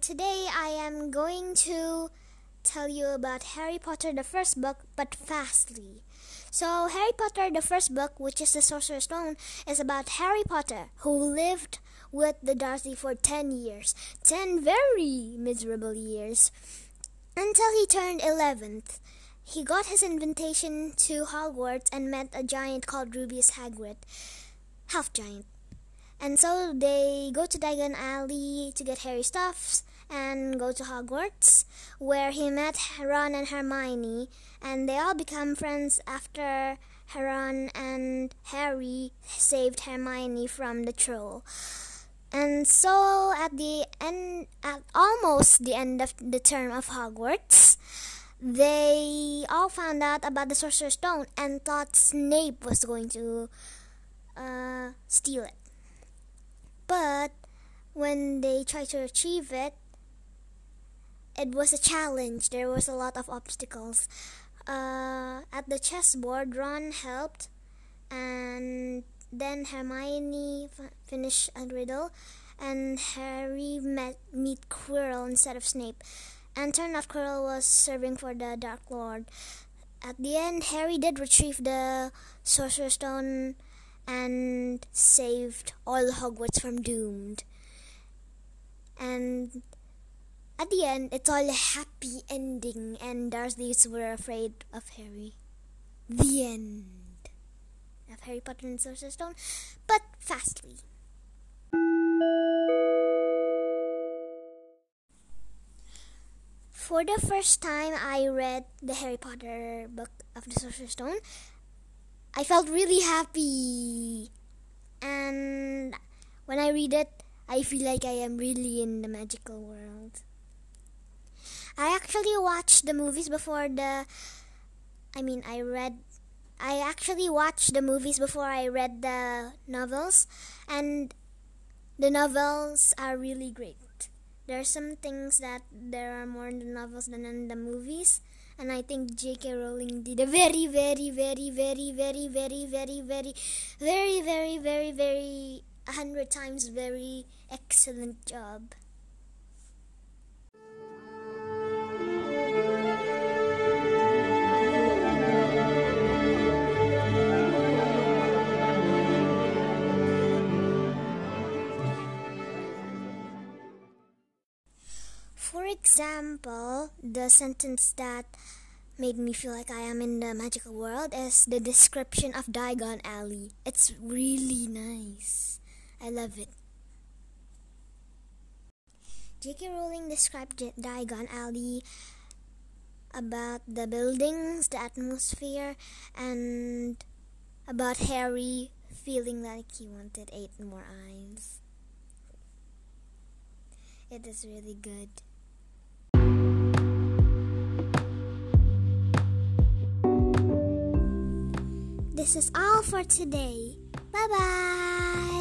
today I am going to tell you about Harry Potter, the first book, but fastly. So, Harry Potter, the first book, which is the Sorcerer's Stone, is about Harry Potter, who lived with the Dursley for 10 years. 10 very miserable years. Until he turned 11th. He got his invitation to Hogwarts and met a giant called Rubeus Hagrid. Half giant. And so they go to Diagon Alley to get Harry stuffs and go to Hogwarts, where he met Ron and Hermione, and they all become friends after Ron and Harry saved Hermione from the troll. And so at almost the end of the term of Hogwarts, they all found out about the Sorcerer's Stone and thought Snape was going to steal it. But when they tried to achieve it, it was a challenge. There was a lot of obstacles. At the chessboard, Ron helped, and then Hermione finished a riddle, and Harry meet Quirrell instead of Snape. And turned out Quirrell was serving for the Dark Lord. At the end, Harry did retrieve the Sorcerer's Stone and saved all Hogwarts from doomed. And at the end, it's all a happy ending, and Dursleys were afraid of Harry. The end of Harry Potter and the Sorcerer's Stone, but fastly. For the first time I read the Harry Potter book of the Sorcerer's Stone, I felt really happy. And when I read it, I feel like I am really in the magical world. I actually watched the movies before I actually watched the movies before I read the novels, and the novels are really great. There are some things that there are more in the novels than in the movies, and I think J.K. Rowling did a very, very, very, very, very, very, very, very, very, very, very, very 100 times very excellent job. For example, the sentence that made me feel like I am in the magical world is the description of Diagon Alley. It's really nice. I love it. J.K. Rowling described Diagon Alley about the buildings, the atmosphere, and about Harry feeling like he wanted 8 more eyes. It is really good. This is all for today. Bye-bye!